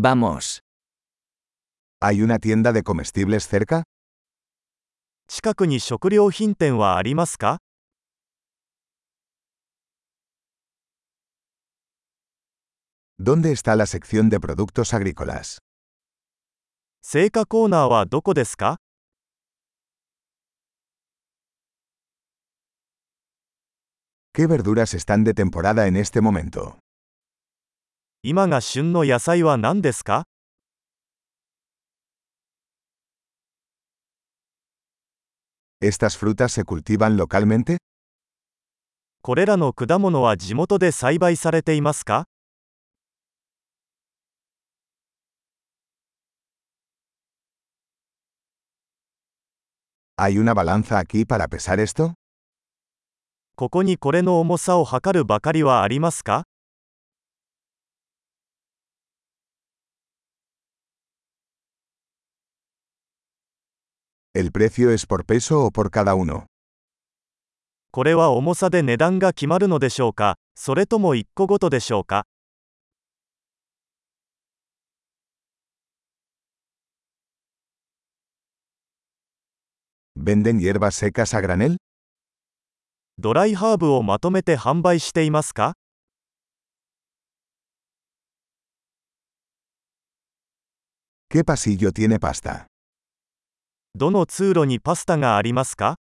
Vamos. ¿Hay una tienda de comestibles cerca? 近くに食料品店はありますか？ ¿Dónde está la sección de productos agrícolas? 青果コーナーはどこですか？ ¿Qué verduras están de temporada en este momento? 今が旬の野菜は何ですか？ ¿Estas frutas se cultivan localmente? これらの果物は地元で栽培されていますか？ ¿Hay una balanza aquí para pesar esto? ここにこれの重さを測るばかりはありますか？ ¿El precio es por peso o por cada uno? これは重さで値段が決まるのでしょうか、それとも1個ごとでしょうか？ ¿Venden hierbas secas a granel? ドライハーブをまとめて販売していますか？ ¿Qué pasillo tiene pasta? どの通路にパスタがありますか？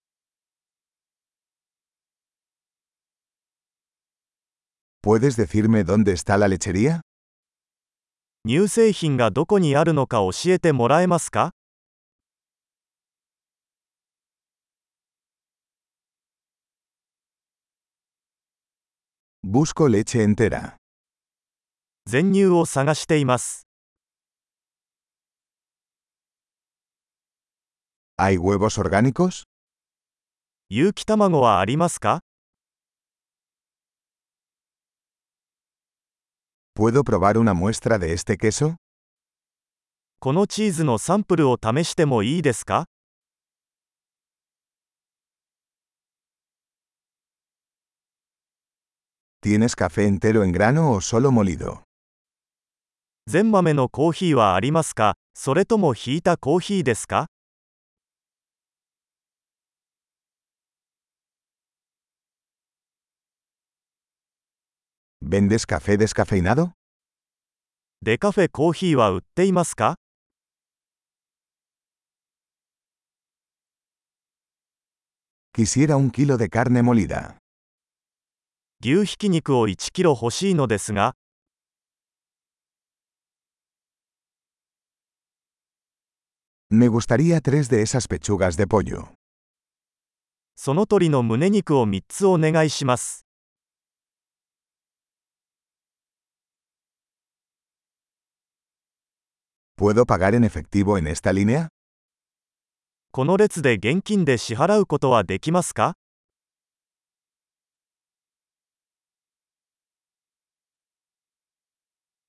¿Puedes decirme dónde está la lechería? 乳製品がどこにあるのか教えてもらえますか？ Busco leche entera. 全乳を探しています。 ¿Hay huevos orgánicos? 有機卵はありますか？ ¿Puedo probar una muestra de este queso? このチーズのサンプルを試してもいいですか？ ¿Tienes café entero en grano o solo molido? 全豆のコーヒーはありますか？それともひいたコーヒーですか？ ¿Vendes café descafeinado? デカフェコーヒーは売っていますか？ Quisiera un kilo de carne molida. 牛ひき肉を1キロ欲しいのですが、 Me gustaría 3 de esas pechugas de pollo. その鶏の胸肉を3つお願いします。 ¿Puedo pagar en efectivo en esta línea? この列で現金で支払うことはできますか？